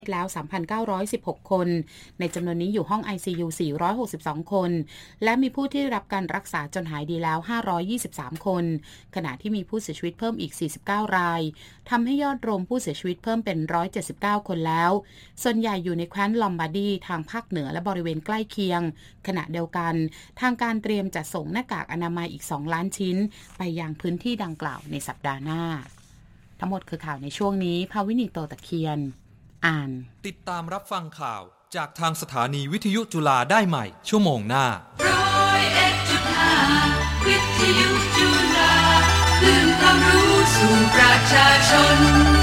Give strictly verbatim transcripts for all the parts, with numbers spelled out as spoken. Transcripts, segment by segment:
แล้ว สามพันเก้าร้อยสิบหก คนในจำนวนนี้อยู่ห้อง ไอ ซี ยู สี่ร้อยหกสิบสอง คนและมีผู้ที่รับการรักษาจนหายดีแล้วห้าร้อยยี่สิบสามคนขณะที่มีผู้เสียชีวิตเพิ่มอีกสี่สิบเก้ารายทำให้ยอดรวมผู้เสียชีวิตเพิ่มเป็นหนึ่งร้อยเจ็ดสิบเก้าคนแล้วส่วนใหญ่อยู่ในแคว้นลอมบาร์ดีทางภาคเหนือและบริเวณใกล้เคียงขณะเดียวกันทางการเตรียมจัดส่งหน้ากากอนามัยอีกสองล้านชิ้นไปยังพื้นที่ดังกล่าวในสัปดาห์หน้าทั้งหมดคือข่าวในช่วงนี้ภาวินีโตตะเคียนอ่านติดตามรับฟังข่าวจากทางสถานีวิทยุจุฬาได้ใหม่ชั่วโมงหน้าร้อยเอ็ดจุดห้า วิทยุจุฬาคลื่นความรู้สู่ประชาชน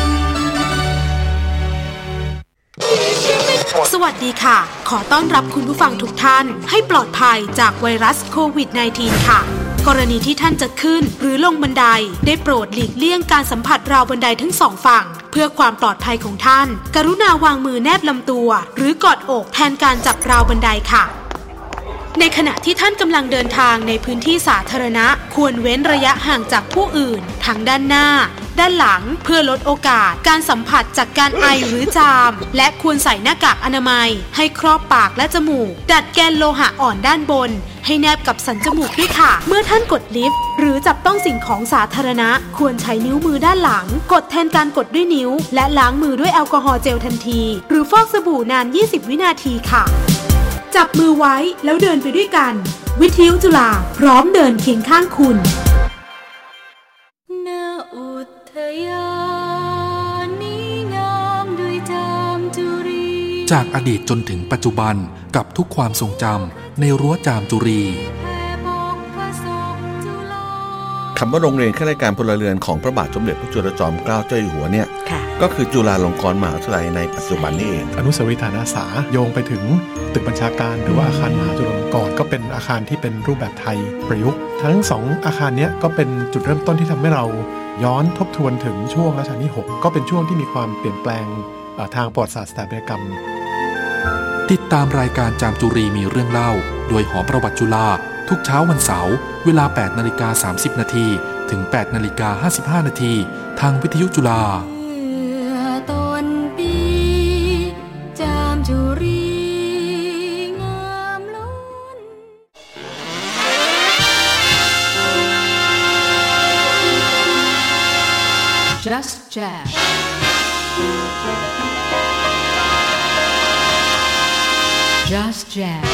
สวัสดีค่ะขอต้อนรับคุณผู้ฟังทุกท่านให้ปลอดภัยจากไวรัสโควิด สิบเก้า ค่ะกรณีที่ท่านจะขึ้นหรือลงบันไดได้โปรดหลีกเลี่ยงการสัมผัสราวบันไดทั้งสองฝั่งเพื่อความปลอดภัยของท่านกรุณาวางมือแนบลำตัวหรือกอดอกแทนการจับราวบันไดค่ะในขณะที่ท่านกำลังเดินทางในพื้นที่สาธารณะควรเว้นระยะห่างจากผู้อื่นทั้งด้านหน้าด้านหลังเพื่อลดโอกาสการสัมผัสจากการไอหรือจามและควรใส่หน้ากากอนามัยให้ครอบปากและจมูกดัดแกนโลหะอ่อนด้านบนให้แนบกับสันจมูกด้วยค่ะเมื่อท่านกดลิฟต์หรือจับต้องสิ่งของสาธารณะควรใช้นิ้วมือด้านหลังกดแทนการกดด้วยนิ้วและล้างมือด้วยแอลกอฮอล์เจลทันทีหรือฟอกสบู่นานยี่สิบวินาทีค่ะจับมือไว้แล้วเดินไปด้วยกันวิทยุจุฬาพร้อมเดินเคียงข้างคุณณอุทยานนี้งามด้วยจามจุรีจากอดีตจนถึงปัจจุบันกับทุกความทรงจำในรั้วจามจุรีคำว่าโรงเรียนข้าราชการพลเรือนของพระบาทสมเด็จพระจุลจอมเกล้าเจ้าอยู่หัวเนี่ยก็คือจุฬาลงกรณ์มหาวิทยาลัยในปัจจุบันนี้เองอนุสาวรีย์ฐานอาสาโยงไปถึงตึกบัญชาการหรือว่าอาคารมหาจุฬาลงกรณ์ก็เป็นอาคารที่เป็นรูปแบบไทยประยุกต์ทั้งสองอาคารนี้ก็เป็นจุดเริ่มต้นที่ทำให้เราย้อนทบทวนถึงช่วงรัชกาลที่หกก็เป็นช่วงที่มีความเปลี่ยนแปลงทางประวัติศาสตร์สถาปัตยกรรมติดตามรายการจามจุรีมีเรื่องเล่าโดยหอประวัติจุฬาทุกเช้าวันเสาร์เวลา แปดนาฬิกาสามสิบนาทีถึง แปดนาฬิกาห้าสิบห้านาทีทางวิทยุจุฬาต้นปีจามจุรีงามล้น Just Jazz Just Jazz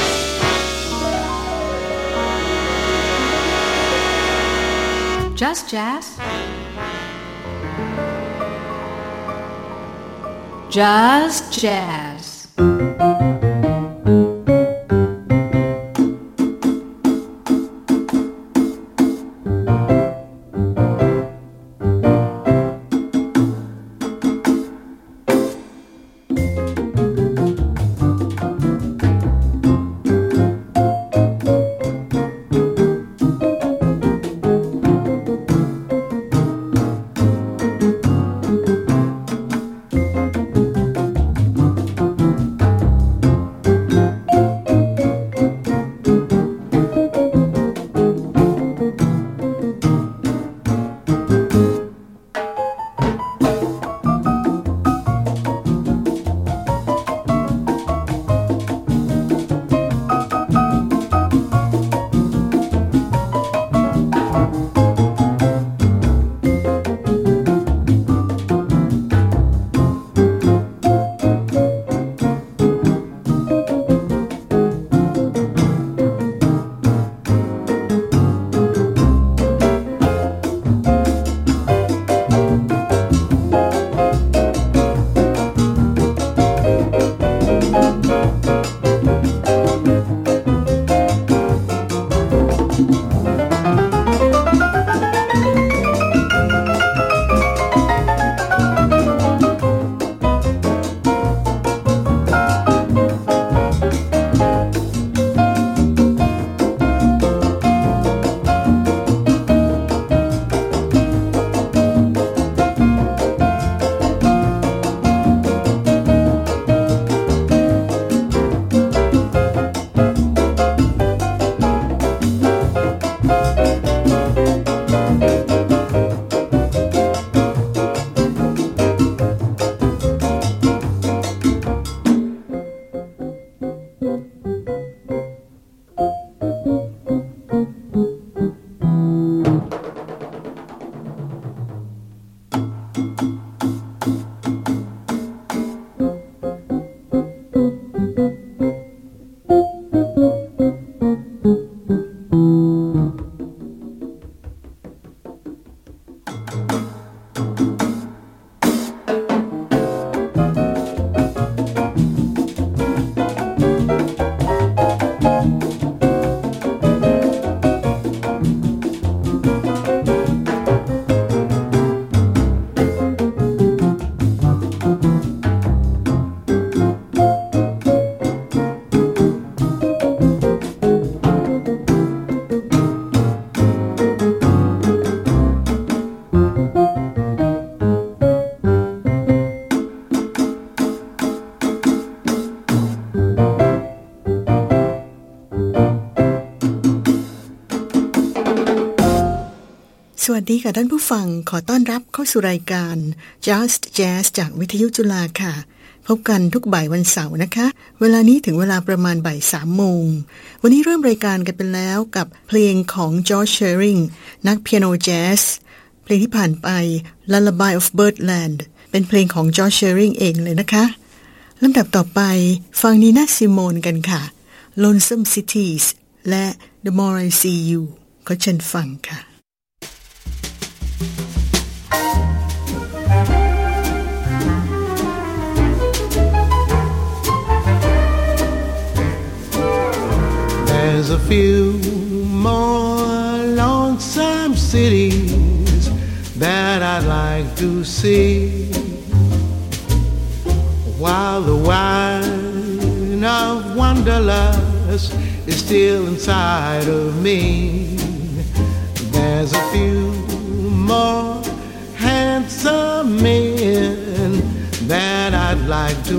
Just Jazz Just Jazz สวัสดีค่ะท่านผู้ฟังขอต้อนรับเข้าสู่รายการ Just Jazz จากวิทยุจุฬาค่ะพบกันทุกบ่ายวันเสาร์นะคะเวลานี้ถึงเวลาประมาณบ่ายสามโมงวันนี้เริ่มรายการกันไปแล้วกับเพลงของ George Shearing นักเปียโนแจ๊สเพลงที่ผ่านไป Lullaby of Birdland เป็นเพลงของ George Shearing เองเลยนะคะลำดับต่อไปฟังนีน่าซิโมนกันค่ะ Lonesome Cities และ The More I See You ขอเชิญฟังค่ะ There's a few more lonesome cities that I'd like to see while the wine of wanderlust is still inside of me. There's a few more handsome men that I'd like to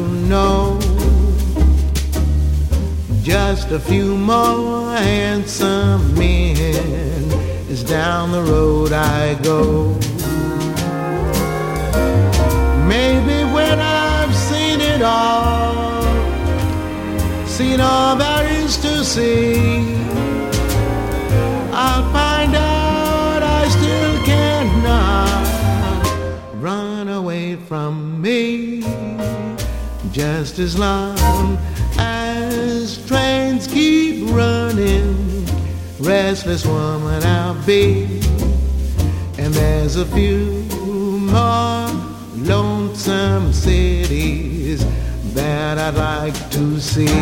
know.Just a few more handsome men is down the road I go. Maybe when I've seen it all, seen all there is to see, I'll find out I still cannot run away from me. Just as long.As trains keep running, restless woman I'll be. And there's a few more lonesome cities that I'd like to see.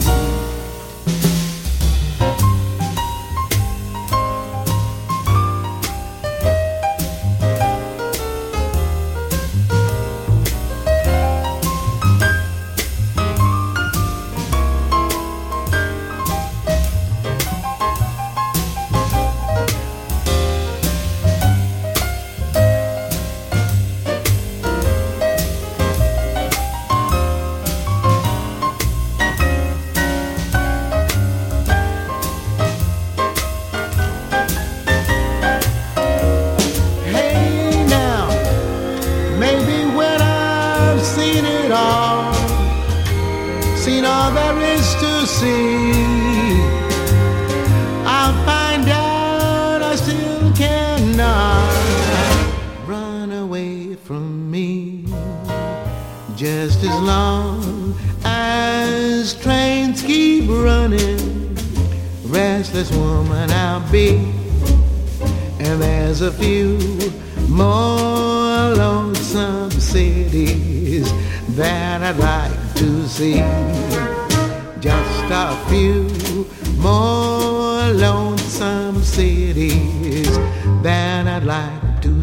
Just as long as trains keep running, restless woman I'll be. And there's a few more lonesome cities that I'd like to see. Just a few more lonesome cities that I'd like to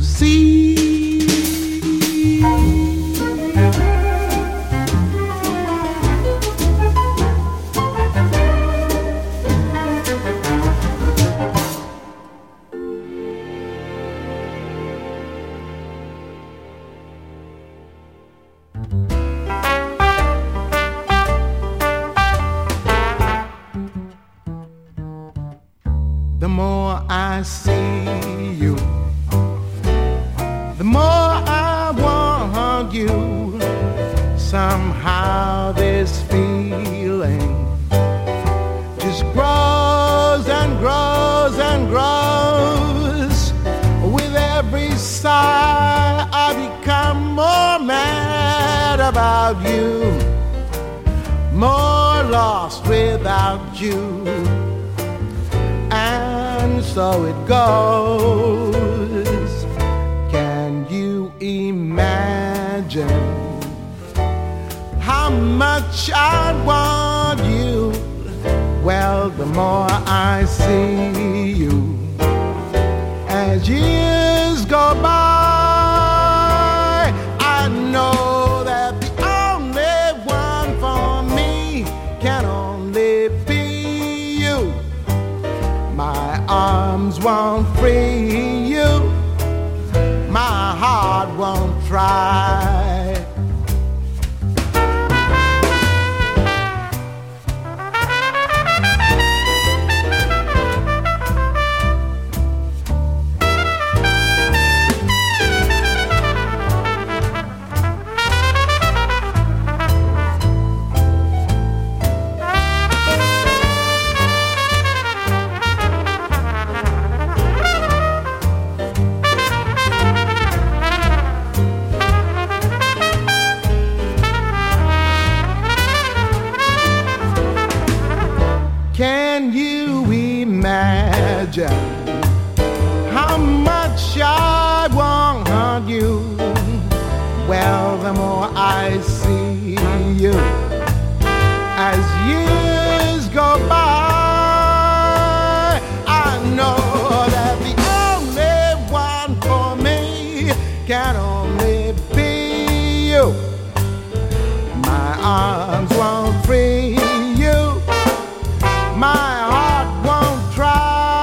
see.The more I see you, the more I want you. Somehow this feeling just grows and grows and grows. With every sigh I become more mad about you, more lost without you.And so it goes. Can you imagine how much I want you? Well, the more I see you, as years go by, I know that the only one for me can only be you.My arms won't free you, my heart won't try. imagine how much I want you. Well, the more I see you as years go by, I know that the only one for me can only be you. My arms won't free you, my heart won't try.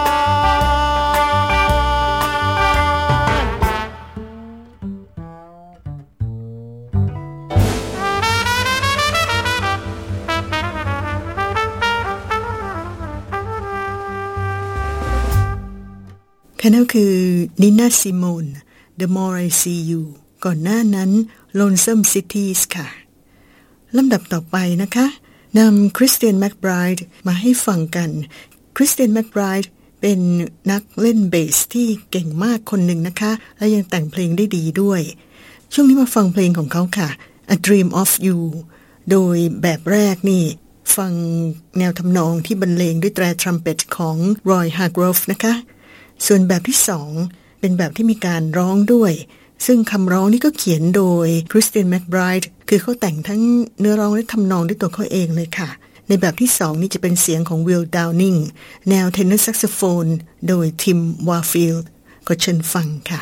ค่ะนั่นคือนิน่าซิโมน The More I See You ก่อนหน้านั้น Lonesome Cities ค่ะลำดับต่อไปนะคะนำคริสเตียนแมคไบรด์มาให้ฟังกันคริสเตียนแมคไบรด์เป็นนักเล่นเบสที่เก่งมากคนหนึ่งนะคะและยังแต่งเพลงได้ดีด้วยช่วงนี้มาฟังเพลงของเขาค่ะ A Dream of You โดยแบบแรกนี่ฟังแนวทำนองที่บรรเลงด้วยแตรทรัมเป็ตของรอยฮาร์โกรฟนะคะส่วนแบบที่สองเป็นแบบที่มีการร้องด้วยซึ่งคำร้องนี่ก็เขียนโดยคริสเตียนแมคไบรด์คือเขาแต่งทั้งเนื้อร้องและทำนองด้วยตัวเขาเองเลยค่ะในแบบที่สองนี่จะเป็นเสียงของวิล ดาวนิงแนวเทนเนอร์แซกโซโฟนโดยทิม วาร์ฟิลด์ก็เชิญฟังค่ะ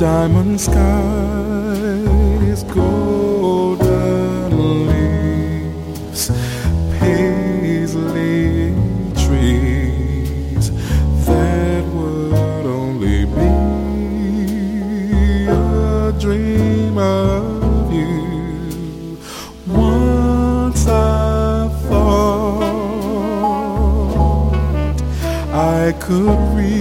diamond skies, golden leaves, paisley trees, that would only be a dream of you. Once I thought I could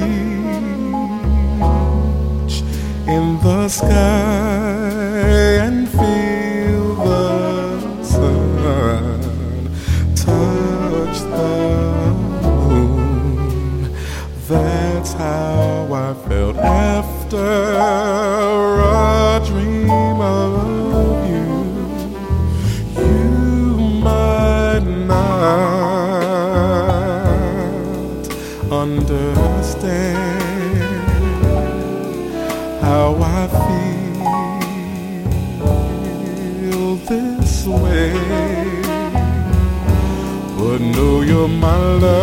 reach in the sky and feel the sun touch the moon. That's how I felt after a dream of you. You might not understand how I feel this way, but know you're my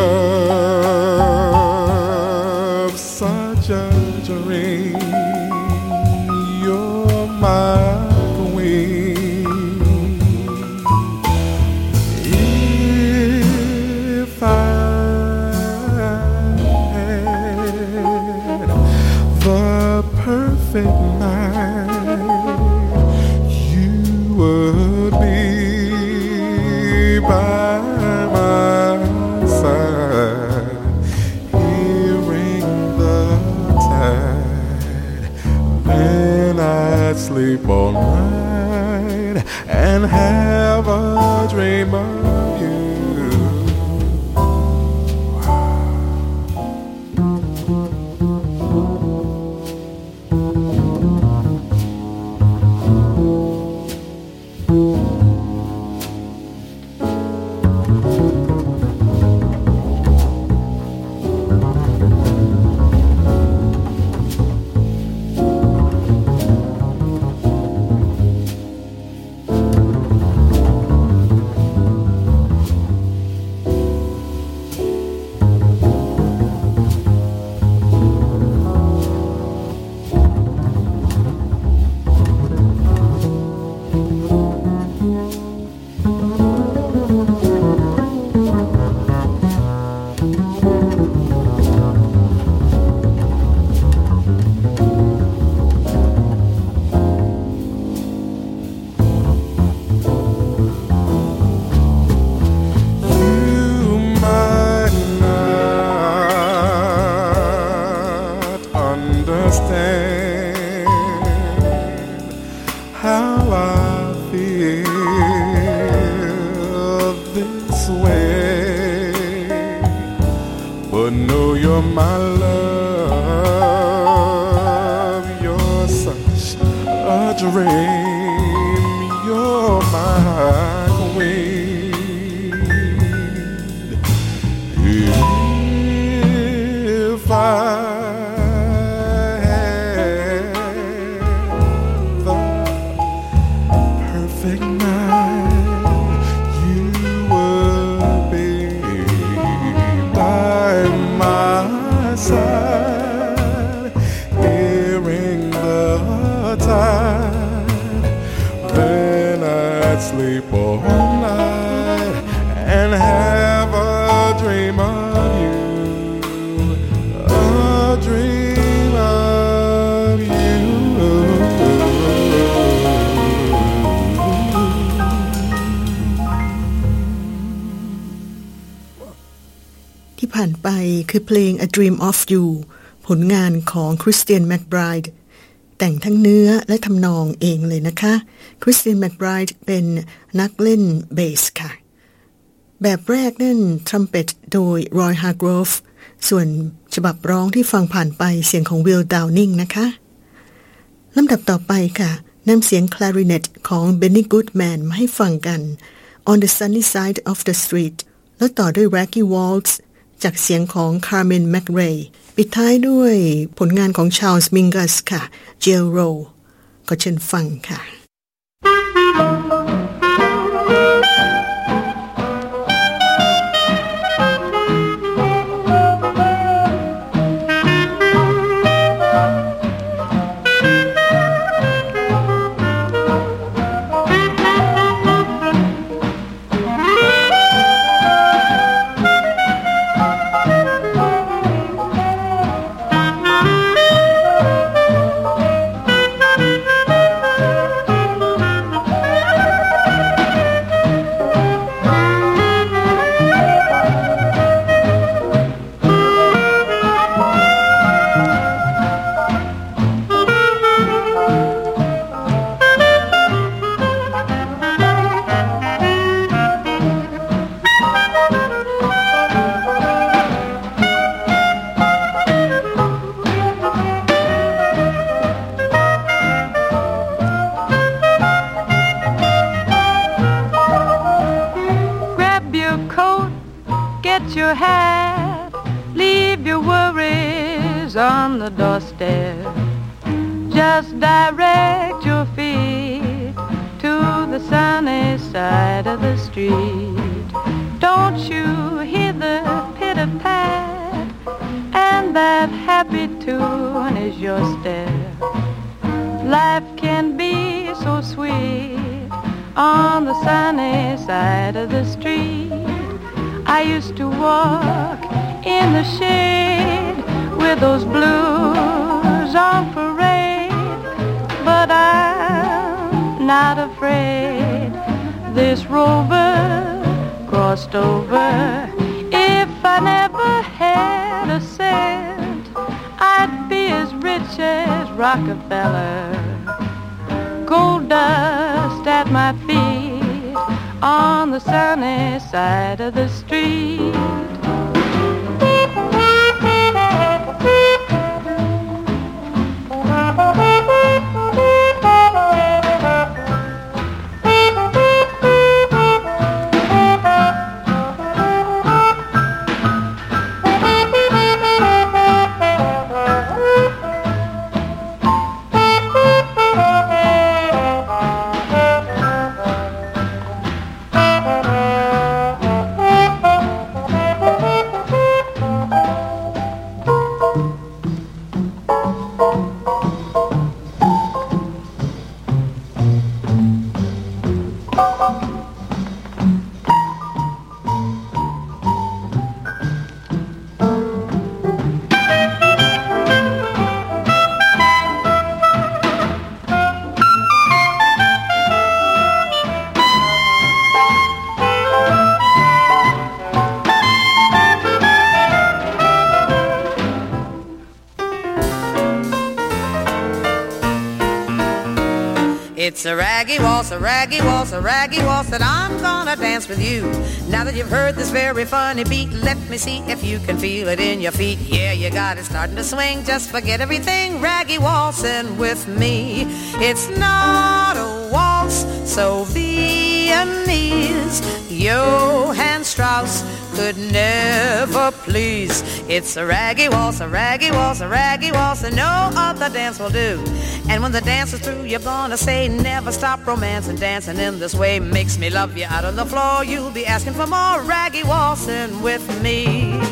love, such a dream. You're my queen. If I had the perfect night, you would be by my side, hearing the tide. Then I'd sleep all night and have a dream of you. คือเพลง A Dream of You ผลงานของคริสเตียนแมคไบรด์แต่งทั้งเนื้อและทำนองเองเลยนะคะคริสเตียนแมคไบรด์เป็นนักเล่นเบสค่ะแบบแรกนั่นทรัมเป็ตโดยรอยฮาร์โกรฟส่วนฉบับร้องที่ฟังผ่านไปเสียงของวิล ดาวนิงนะคะลำดับต่อไปค่ะนำเสียงคลาริเนตของเบนนี่กูดแมนมาให้ฟังกัน On the Sunny Side of the Street แล้วต่อด้วย Raggy Waltzจากเสียงของคาร์เมนแมคเรย์ปิดท้ายด้วยผลงานของชาร์ลส์มิงกัสค่ะ Jail Row ก็เชิญฟังค่ะ Thank you. your hat, leave your worries on the doorstep. Just direct your feet to the sunny side of the street. Don't you hear the pitter-pat, and that happy tune is your step. Life can be so sweet on the sunny side of the street. I used to walk in the shade with those blues on parade, but I'm not afraid. This rover crossed over. If I never had a cent, I'd be as rich as Rockefeller. Gold dust at my feet on the sunny side of the street. It's a raggy waltz, a raggy waltz, a raggy waltz that I'm gonna dance with you. Now that you've heard this very funny beat, let me see if you can feel it in your feet. Yeah, you got it starting to swing, just forget everything, raggy waltzing with me. It's not a waltz so Viennese, Johann Strauss could never please. It's a raggy waltz, a raggy waltz, a raggy waltz that no other dance will do. And when the dance is through, you're gonna say, never stop romancing, dancing in this way makes me love you. Out on the floor, you'll be asking for more raggy waltzing with me.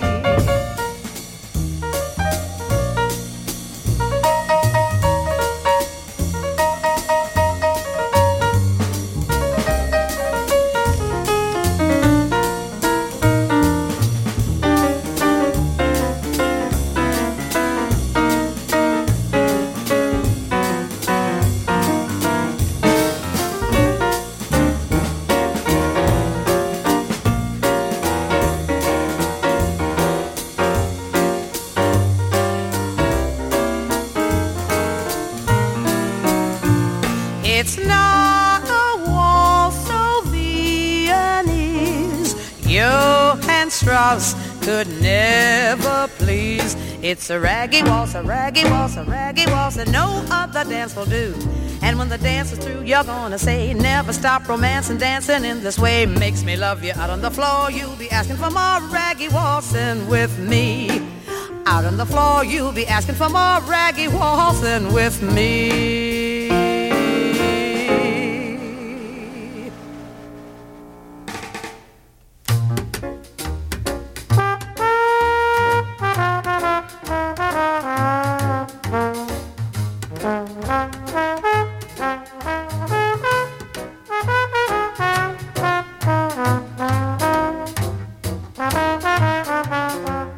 It's not a waltz so Viennese, Johann Strauss could never please. It's a raggy waltz, a raggy waltz, a raggy waltz that no other dance will do. And when the dance is through, you're gonna say, never stop romancing, dancing in this way makes me love you. Out on the floor, you'll be asking for more raggy waltzing with me. Out on the floor, you'll be asking for more raggy waltzing with me.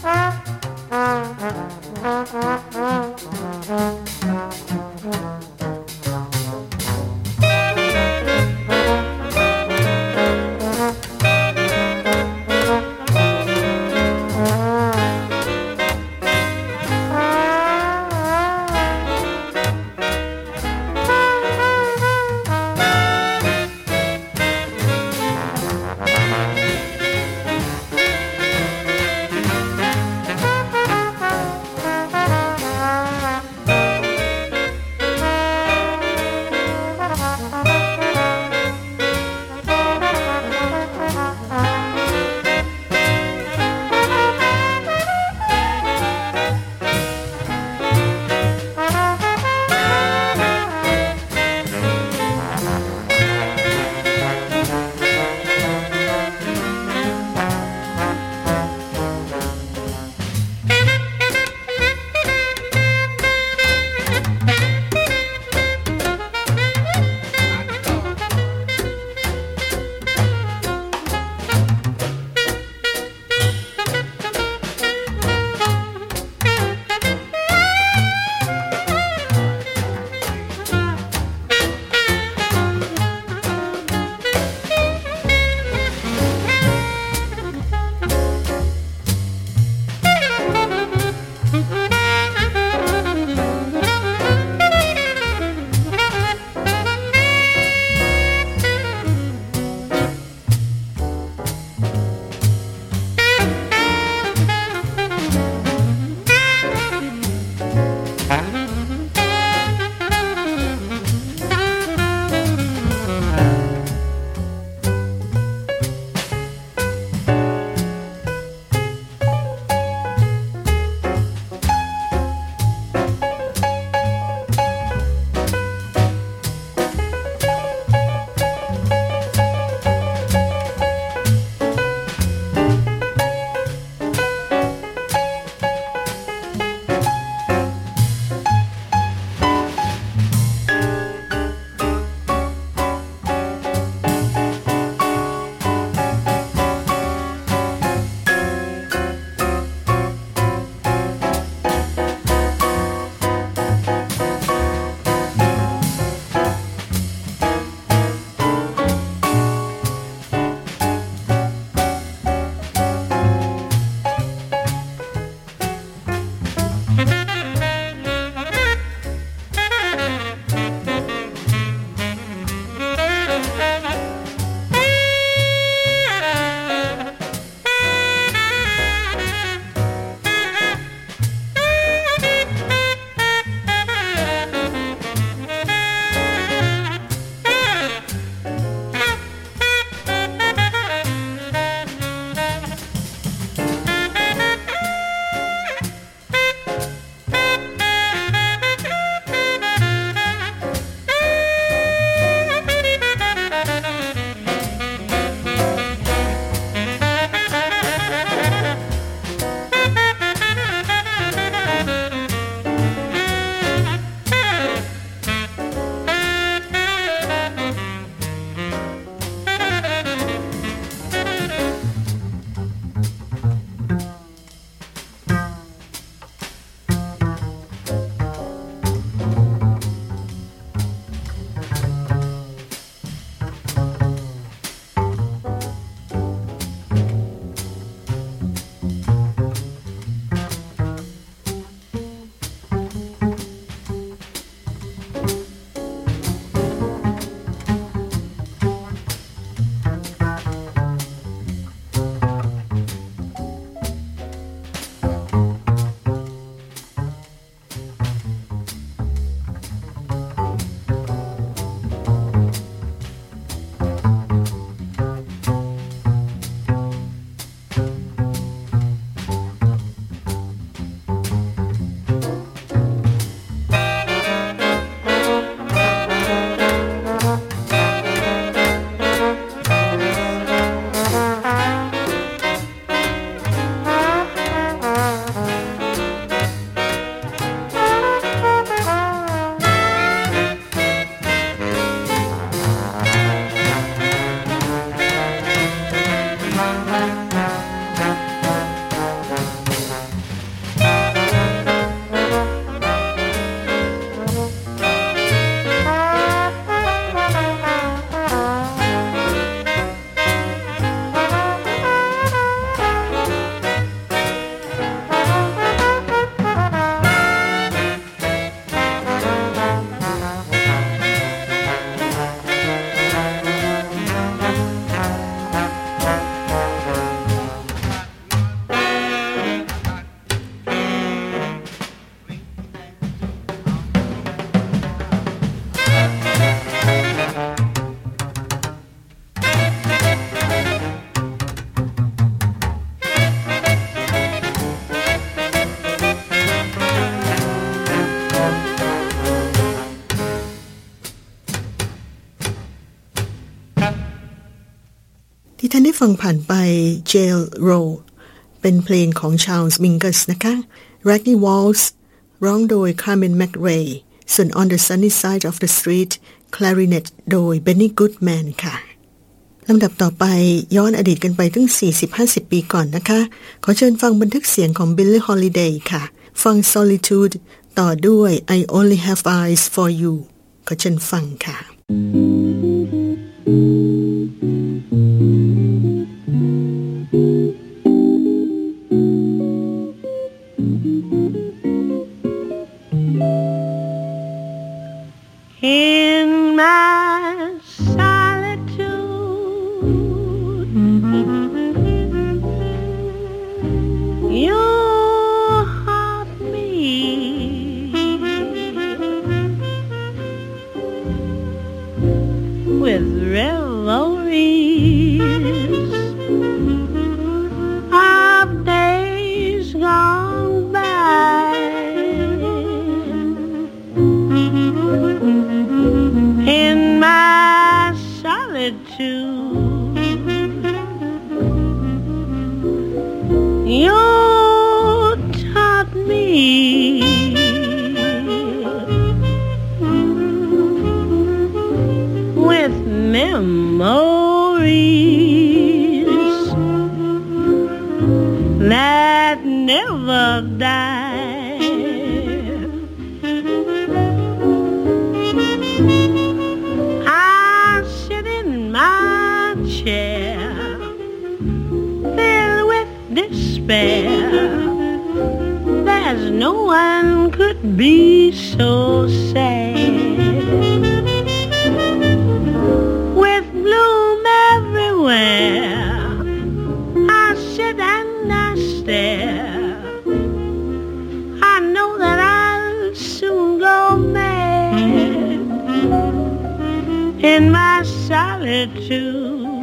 Thank you. ที่ท่านได้ฟังผ่านไป Jail Row เป็นเพลงของ Charles Mingus นะคะ Raggy Waltz ร้องโดย Carmen McRae ส่วน On the Sunny Side of the Street Clarinet โดย Benny Goodman ค่ะลำดับต่อไปย้อนอดีตกันไปถึง สี่สิบถึงห้าสิบ ปีก่อนนะคะขอเชิญฟังบันทึกเสียงของ Billie Holiday ค่ะฟัง Solitude ต่อด้วย I Only Have Eyes for You ขอเชิญฟังค่ะ In my solitude, you haunt me with revelries of days gone by. In my solitude, you taught me with memories that never die. There's no one could be so sad. With bloom everywhere, I sit and I stare. I know that I'll soon go mad in my solitude.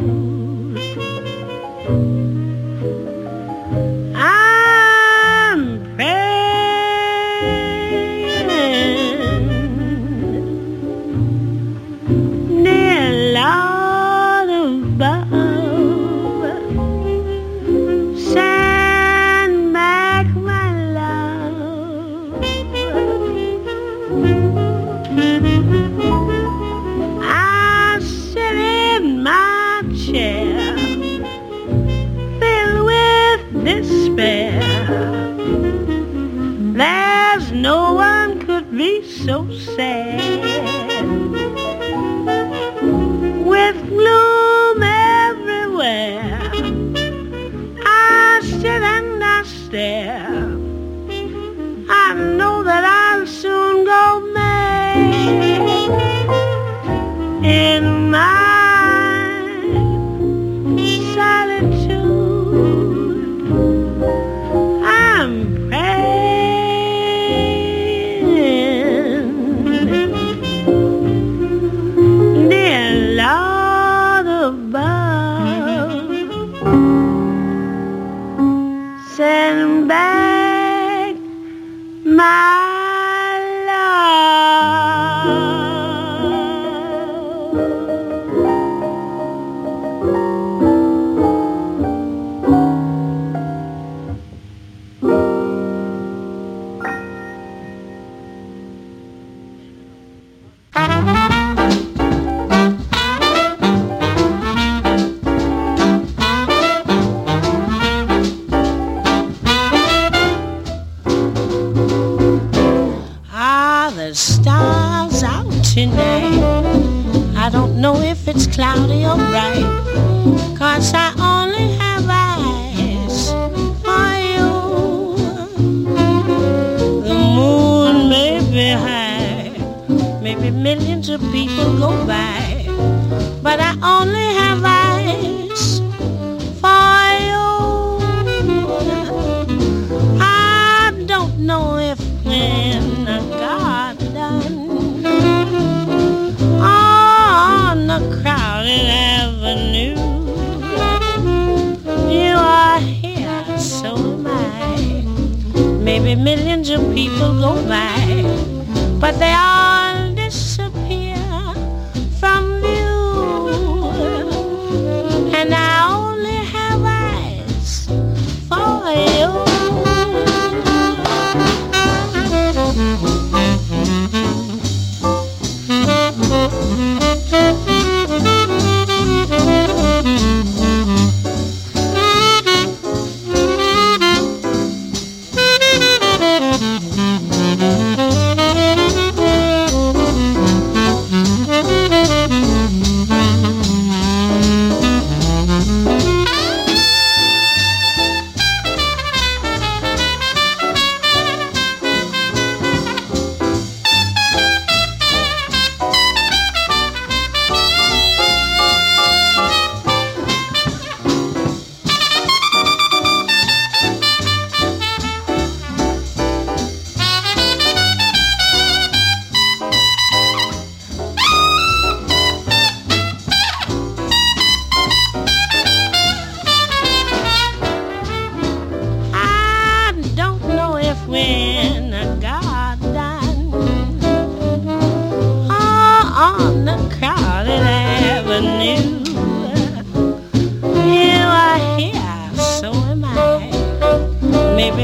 So sad with gloom everywhere. I sit and I stare. I know that I'll soon go mad in my solitude. I'm send back my cloudy or bright, 'cause I only have eyes for you. The moon may be high, maybe millions of people go by, but I only have eyes for you. I don't know if when I got done on the crowded avenue, you are here, so am I. Maybe millions of people go by, but they all disappear from view. And I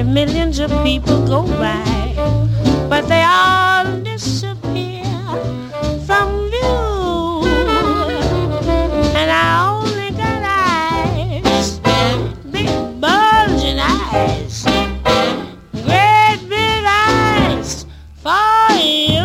Maybe millions of people go by, but they all disappear from view. And I only got eyes, big bulging eyes, great big eyes for you.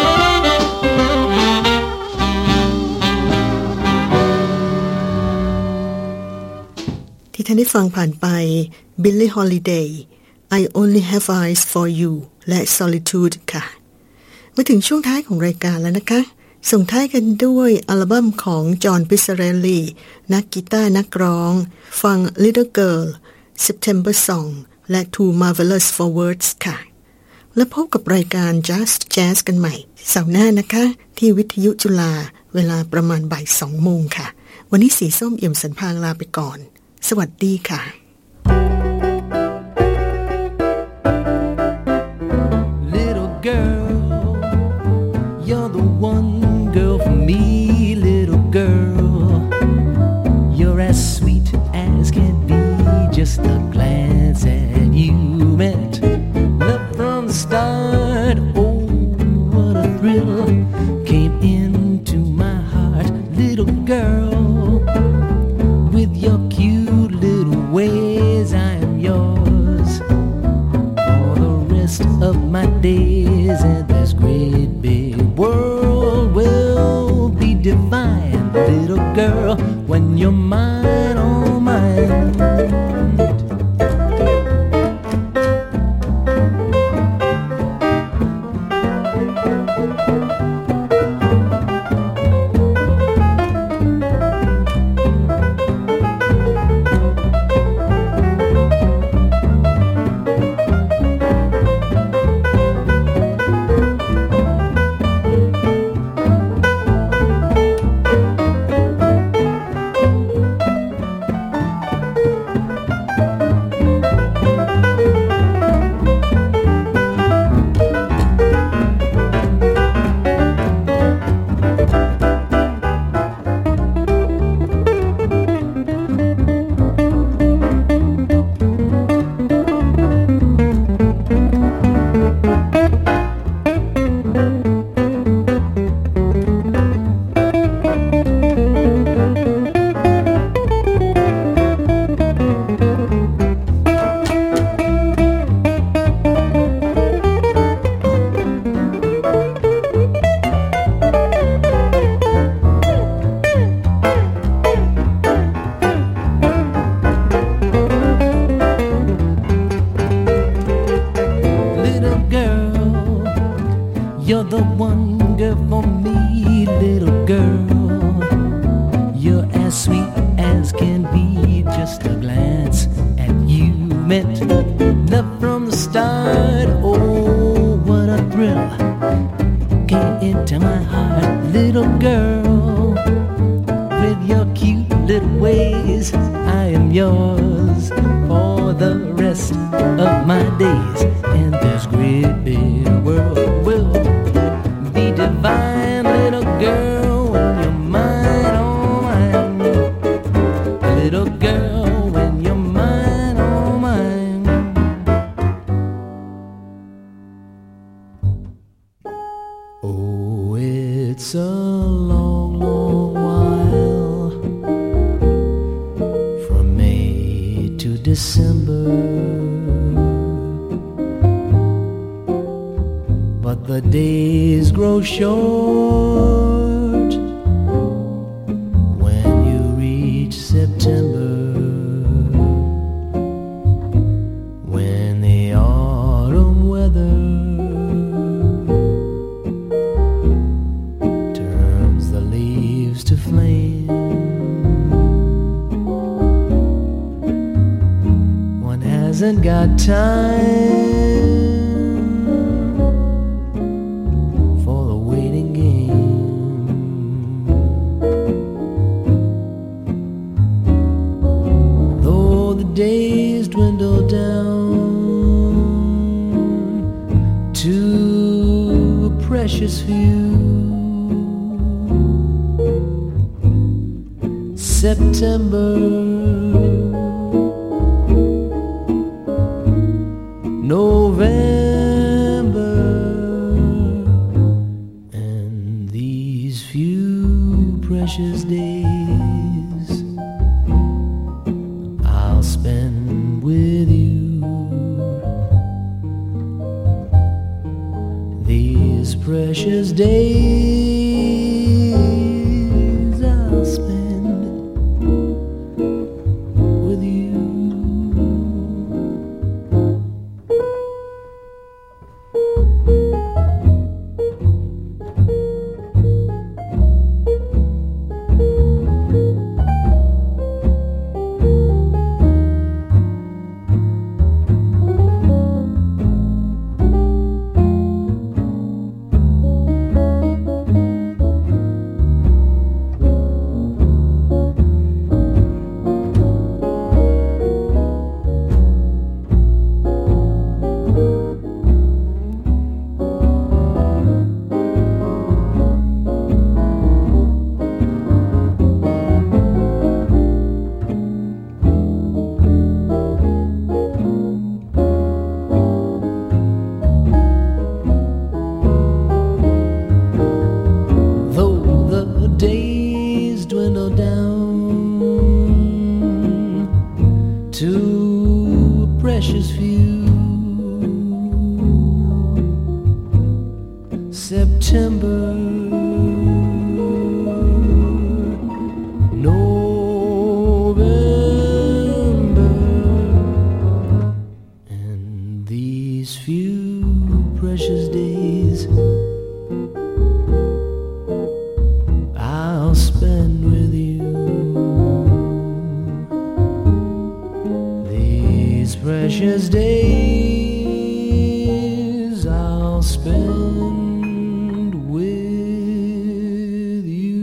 ที่ท่านได้ฟังผ่านไป Billie Holiday I Only Have Eyes for You และ Solitude ค่ะมาถึงช่วงท้ายของรายการแล้วนะคะส่งท้ายกันด้วยอัลบั้มของจอห์นพิซซาเรลลีนักกีตาร์นักร้องฟัง Little Girl September Song และ Too Marvelous for Words ค่ะและพบกับรายการ Just Jazz กันใหม่เสาร์หน้านะคะที่วิทยุจุฬาเวลาประมาณบ่ายสองโมงค่ะวันนี้สีส้มเอี่ยมสันพางลาไปก่อนสวัสดีค่ะ Little girl, you're the one girl for me, little girl. You're as sweet as can be, just a glance at you meant love from the start. Oh, what a thrill came into my heart, little girl.With your cute little ways, I am yours for the rest of my days. And this great big world will be divine, little girl, when you're mine, oh my.You're the one girl for me, little girl. You're as sweet as can be, just a glance at you meant love from the start. Oh, what a thrill came into my heart, little girl. With your cute little ways, I am yours for the rest of my days. And this great big world will.Be divine, little girl, when you're mine, oh mine. Little girl, when you're mine, oh mine. Oh, it's a long, long while from May to December.But the days grow short when you reach September, when the autumn weather turns the leaves to flame. One hasn't got time.Days dwindle down to a precious few. September days I'll spend with you. Precious days I'll spend with you.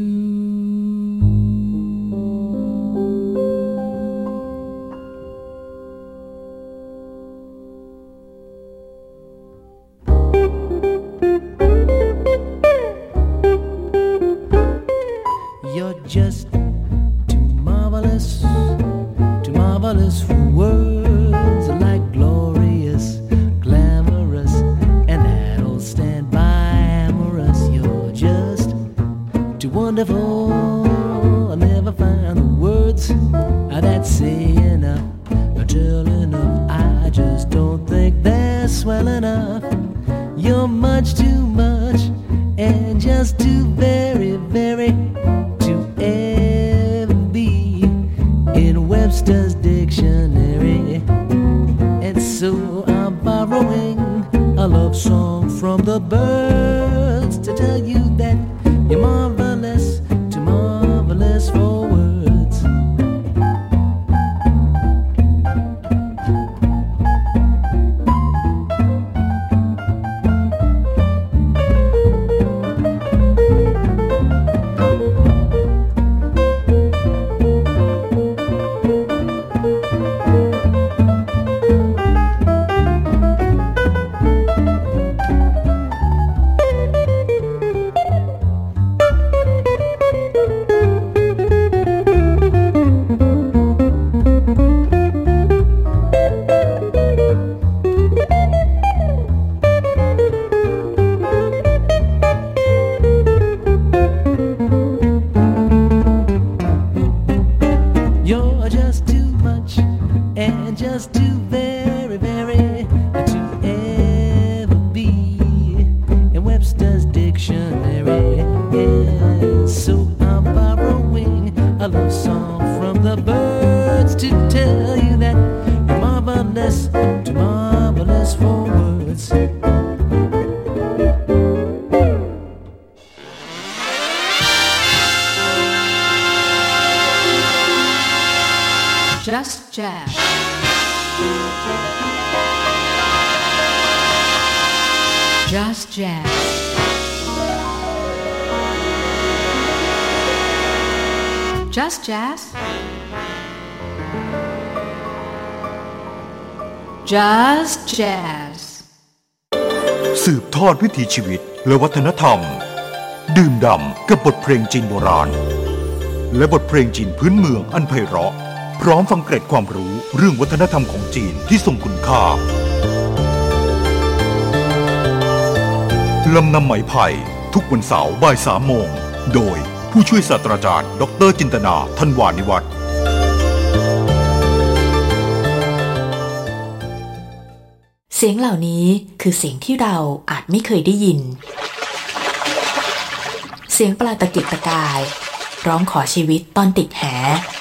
You're just too marvelous, too marvelous for words. Like glorious, glamorous, and that'll stand by amorous. You're just too wonderful. I never find the words that say enough or tell enough. I just don't think they're swell enough. You're much too much and just too very, very to ever be in Webster's dictionary. So I'm borrowing a love song from the birds to tell you that you're marvelous, too marvelous for words. Just Jazz. Just Jazz. Just Jazz. Just Jazz. สืบทอดวิถีชีวิตและวัฒนธรรมดื่มด่ำกับบทเพลงจีนโบราณและบทเพลงจีนพื้นเมืองอันไพเราะพร้อมฟังเกร็ดความรู้เรื่องวัฒนธรรมของจีนที่ทรงคุณค่าลำนำไหมไผ่ทุกวันเสาร์บ่ายสามโมงโดยผู้ช่วยศาสตราจารย์ดร.จินตนาธันวานิวัฒน์เสียงเหล่านี้คือเสียงที่เราอาจไม่เคยได้ยินเสียงปลาตะกิกตะกายร้องขอชีวิตตอนติดแห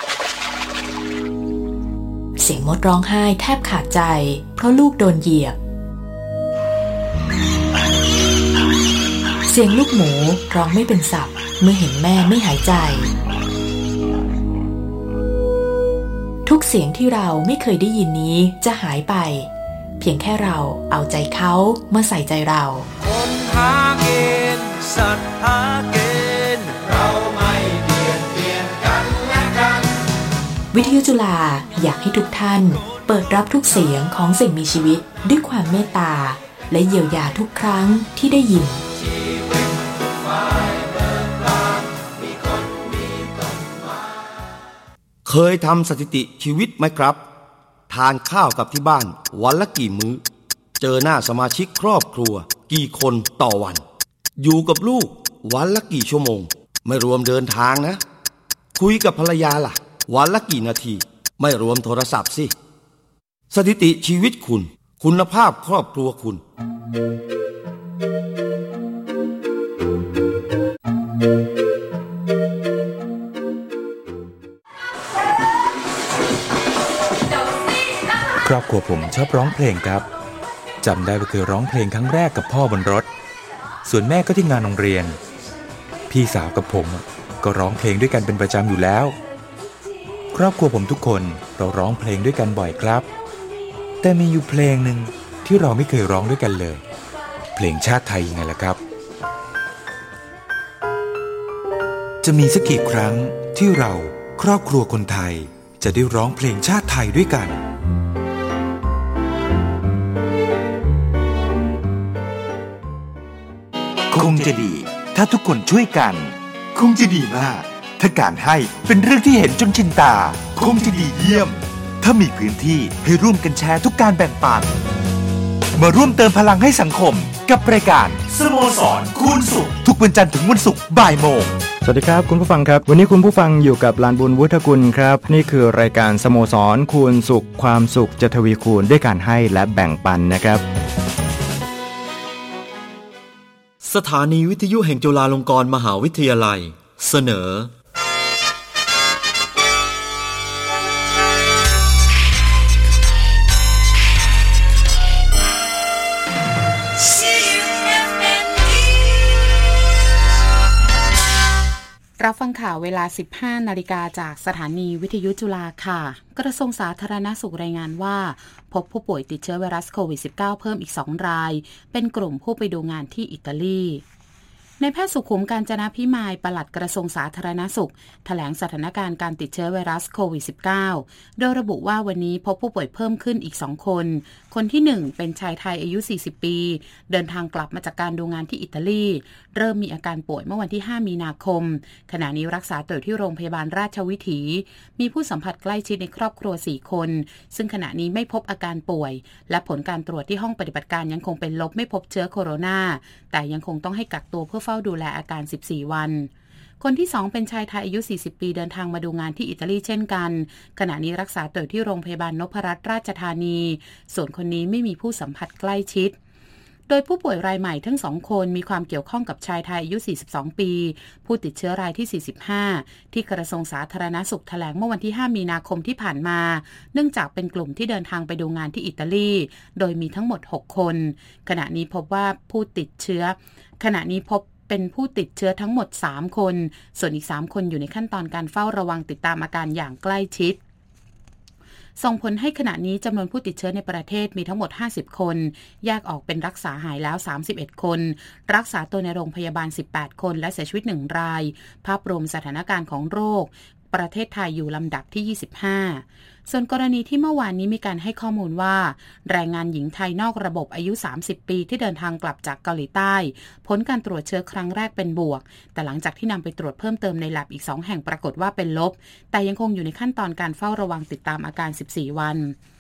เสียงมดร้องไห้แทบขาดใจเพราะลูกโดนเหยียบเสียงลูกหมูร้องไม่เป็นสับเมื่อเห็นแม่ไม่หายใจทุกเสียงที่เราไม่เคยได้ยินนี้จะหายไปเพียงแค่เราเอาใจเขามาใส่ใจเราคนหาเกณฑ์สัตว์หาเกณฑ์เราไม่เบียดเบียนกันและกันวิทยุจุฬาอยากให้ทุกท่านเปิดรับทุกเสียงของสิ่งมีชีวิตด้วยความเมตตาและเยียวยาทุกครั้งที่ได้ยินเคยทำสถิติชีวิตไหมครับทานข้าวกับที่บ้านวันละกี่มื้อเจอหน้าสมาชิกครอบครัวกี่คนต่อวันอยู่กับลูกวันละกี่ชั่วโมงไม่รวมเดินทางนะคุยกับภรรยาล่ะวันละกี่นาทีไม่รวมโทรศัพท์สิสถิติชีวิตคุณคุณภาพครอบครัวคุณครอบครัวผมชอบร้องเพลงครับจำได้ว่าเคยร้องเพลงครั้งแรกกับพ่อบนรถส่วนแม่ก็ที่งานโรงเรียนพี่สาวกับผมก็ร้องเพลงด้วยกันเป็นประจำอยู่แล้วครอบครัวผมทุกคนเราร้องเพลงด้วยกันบ่อยครับแต่มีอยู่เพลงหนึ่งที่เราไม่เคยร้องด้วยกันเลยเพลงชาติไทยยังไงล่ะครับจะมีสักกี่ครั้งที่เราครอบครัวคนไทยจะได้ร้องเพลงชาติไทยด้วยกันคงจะดีถ้าทุกคนช่วยกันคงจะดีมากถ้าการให้เป็นเรื่องที่เห็นจนชินตาคงจะดีเยี่ยมถ้ามีพื้นที่ให้ร่วมกันแชร์ทุกการแบ่งปันมาร่วมเติมพลังให้สังคมกับรายการสโมสรคูณสุขทุกวันจันทร์ถึงวันศุกร์บ่ายโมงสวัสดีครับคุณผู้ฟังครับวันนี้คุณผู้ฟังอยู่กับลานบุญวุฒิกุลครับนี่คือรายการสโมสรคูณสุขความสุขจะทวีคูณด้วยการให้และแบ่งปันนะครับสถานีวิทยุแห่งจุฬาลงกรณ์มหาวิทยาลัยเสนอรับฟังข่าวเวลา สิบห้านาฬิกาจากสถานีวิทยุจุฬาค่ะกระทรวงสาธารณสุขรายงานว่าพบผู้ป่วยติดเชื้อไวรัสโควิด สิบเก้า เพิ่มอีกสองรายเป็นกลุ่มผู้ไปดูงานที่อิตาลีในแพทย์สุขุมกาญจนาภิมายปลัดกระทรวงสาธารณสุขแถลงสถานการณ์การติดเชื้อไวรัสโควิด สิบเก้า โดยระบุว่าวันนี้พบผู้ป่วยเพิ่มขึ้นอีกสองคนคนที่หนึ่งเป็นชายไทยอายุ สี่สิบ ปีเดินทางกลับมาจากการดูงานที่อิตาลีเริ่มมีอาการป่วยเมื่อวันที่ห้ามีนาคมขณะนี้รักษาตัวอยู่ที่โรงพยาบาลราชวิถีมีผู้สัมผัสใกล้ชิดในครอบครัวสี่คนซึ่งขณะนี้ไม่พบอาการป่วยและผลการตรวจที่ห้องปฏิบัติการยังคงเป็นลบไม่พบเชื้อโคโรนาแต่ยังคงต้องให้กักตัวเพื่อเฝ้าดูแลอาการสิบสี่วันคนที่สองเป็นชายไทยอายุสี่สิบปีเดินทางมาดูงานที่อิตาลีเช่นกันขณะนี้รักษาตัวที่โรงพยาบาลนพรัตน์ราชธานีส่วนคนนี้ไม่มีผู้สัมผัสใกล้ชิดโดยผู้ป่วยรายใหม่ทั้งสองคนมีความเกี่ยวข้องกับชายไทยอายุสี่สิบสองปีผู้ติดเชื้อรายที่สี่สิบห้าที่กระทรวงสาธารณสุขแถลงเมื่อวันที่ห้ามีนาคมที่ผ่านมาเนื่องจากเป็นกลุ่มที่เดินทางไปดูงานที่อิตาลีโดยมีทั้งหมดหกคนขณะนี้พบว่าผู้ติดเชื้อขณะนี้พบเป็นผู้ติดเชื้อทั้งหมดสามคนส่วนอีกสามคนอยู่ในขั้นตอนการเฝ้าระวังติดตามอาการอย่างใกล้ชิดส่งผลให้ขณะนี้จำนวนผู้ติดเชื้อในประเทศมีทั้งหมดห้าสิบคนแยกออกเป็นรักษาหายแล้วสามสิบเอ็ดคนรักษาตัวในโรงพยาบาลสิบแปดคนและเสียชีวิตหนึ่งรายภาพรวมสถานการณ์ของโรคประเทศไทยอยู่ลำดับที่ยี่สิบห้าส่วนกรณีที่เมื่อวานนี้มีการให้ข้อมูลว่าแรงงานหญิงไทยนอกระบบอายุสามสิบปีที่เดินทางกลับจากเกาหลีใต้ผลการตรวจเชื้อครั้งแรกเป็นบวกแต่หลังจากที่นำไปตรวจเพิ่มเติมใน lab อีกสองแห่งปรากฏว่าเป็นลบแต่ยังคงอยู่ในขั้นตอนการเฝ้าระวังติดตามอาการสิบสี่วัน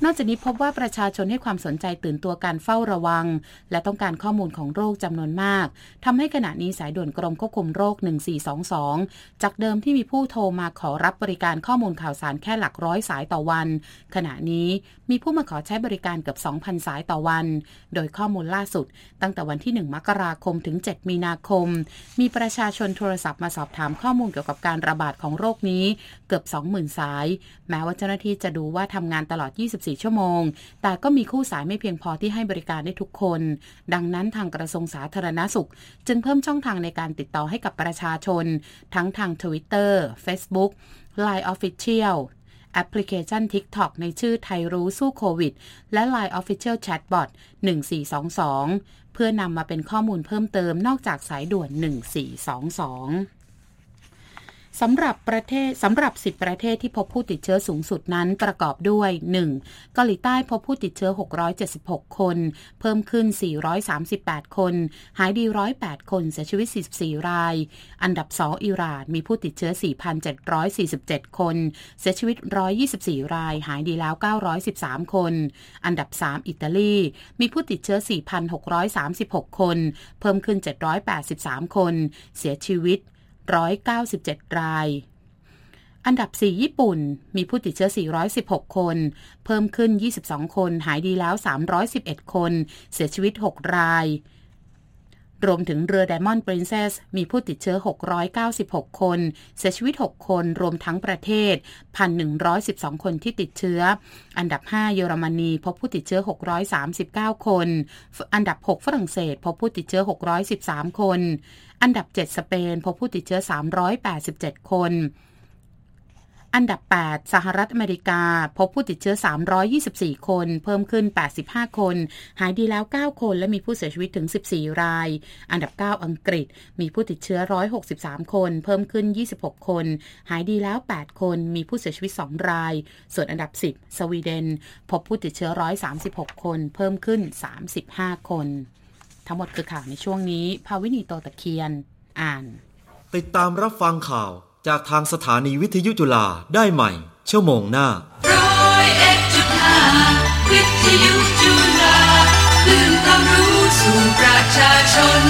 นอกจากนี้พบว่าประชาชนให้ความสนใจตื่นตัวการเฝ้าระวังและต้องการข้อมูลของโรคจำนวนมากทำให้ขณะนี้สายด่วนกรมควบคุมโรคหนึ่งสี่สองสองจากเดิมที่มีผู้โทรมาขอรับบริการข้อมูลข่าวสารแค่หลักร้อยสายต่อวันขณะนี้มีผู้มาขอใช้บริการเกือบ สองพัน สายต่อวันโดยข้อมูลล่าสุดตั้งแต่วันที่หนึ่งมกราคมถึงเจ็ดมีนาคมมีประชาชนโทรศัพท์มาสอบถามข้อมูลเกี่ยวกับการระบาดของโรคนี้เกือบ สองหมื่น สายแม้ว่าเจ้าหน้าที่จะดูว่าทำงานตลอดยี่สิบสี่ชั่วโมงแต่ก็มีคู่สายไม่เพียงพอที่ให้บริการได้ทุกคนดังนั้นทางกระทรวงสาธารณสุขจึงเพิ่มช่องทางในการติดต่อให้กับประชาชนทั้งทาง Twitter Facebook ไลน์ Official แอปพลิเคชัน TikTok ในชื่อไทยรู้สู้โควิดและ ไลน์ Official Chatbot หนึ่งสี่สองสองเพื่อนำมาเป็นข้อมูลเพิ่มเติมนอกจากสายด่วนหนึ่งสี่สองสองสำหรับประเทศสำหรับสิบประเทศที่พบผู้ติดเชื้อสูงสุดนั้นประกอบด้วย หนึ่ง เกาหลีใต้พบผู้ติดเชื้อหกร้อยเจ็ดสิบหกคนเพิ่มขึ้นสี่ร้อยสามสิบแปดคนหายดีหนึ่งร้อยแปดคนเสียชีวิตสี่สิบสี่รายอันดับสองอิหร่านมีผู้ติดเชื้อ สี่พันเจ็ดร้อยสี่สิบเจ็ดคนเสียชีวิตหนึ่งร้อยยี่สิบสี่รายหายดีแล้วเก้าร้อยสิบสามคนอันดับสามอิตาลีมีผู้ติดเชื้อ สี่พันหกร้อยสามสิบหกคนเพิ่มขึ้นเจ็ดร้อยแปดสิบสามคนเสียชีวิตหนึ่งร้อยเก้าสิบเจ็ดรายอันดับสี่ญี่ปุ่นมีผู้ติดเชื้อสี่ร้อยสิบหกคนเพิ่มขึ้นยี่สิบสองคนหายดีแล้วสามร้อยสิบเอ็ดคนเสียชีวิตหกรายรวมถึงเรือ Diamond Princess มีผู้ติดเชื้อหกร้อยเก้าสิบหกคนเสียชีวิตหกคนรวมทั้งประเทศ หนึ่งพันหนึ่งร้อยสิบสอง คนที่ติดเชื้ออันดับห้าเยอรมนีพบผู้ติดเชื้อหกร้อยสามสิบเก้าคนอันดับหกฝรั่งเศสพบผู้ติดเชื้อหกร้อยสิบสามคนอันดับเจ็ดสเปนพบผู้ติดเชื้อสามร้อยแปดสิบเจ็ดคนอันดับแปดสหรัฐอเมริกาพบผู้ติดเชื้อสามร้อยยี่สิบสี่คนเพิ่มขึ้นแปดสิบห้าคนหายดีแล้วเก้าคนและมีผู้เสียชีวิตถึงสิบสี่รายอันดับเก้าอังกฤษมีผู้ติดเชื้อหนึ่งร้อยหกสิบสามคนเพิ่มขึ้นยี่สิบหกคนหายดีแล้วแปดคนมีผู้เสียชีวิตสองรายส่วนอันดับสิบสวีเดนพบผู้ติดเชื้อหนึ่งร้อยสามสิบหกคนเพิ่มขึ้นสามสิบห้าคนทั้งหมดคือข่าวในช่วงนี้ภาวินีโตตะเคียนอ่านติดตามรับฟังข่าวจากทางสถานีวิทยุจุฬาได้ใหม่ชั่วโมงหน้าร้อยเอ็ดจุดห้าวิทยุจุฬาคลื่นความรู้สู่ประชาชน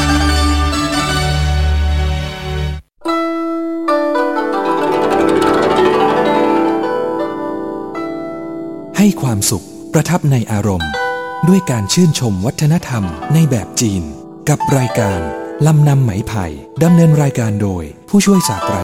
ให้ความสุขประทับในอารมณ์ด้วยการชื่นชมวัฒนธรรมในแบบจีนกับรายการลำนำไหมไผ่ดำเนินรายการโดยผู้ช่วยศาสตรา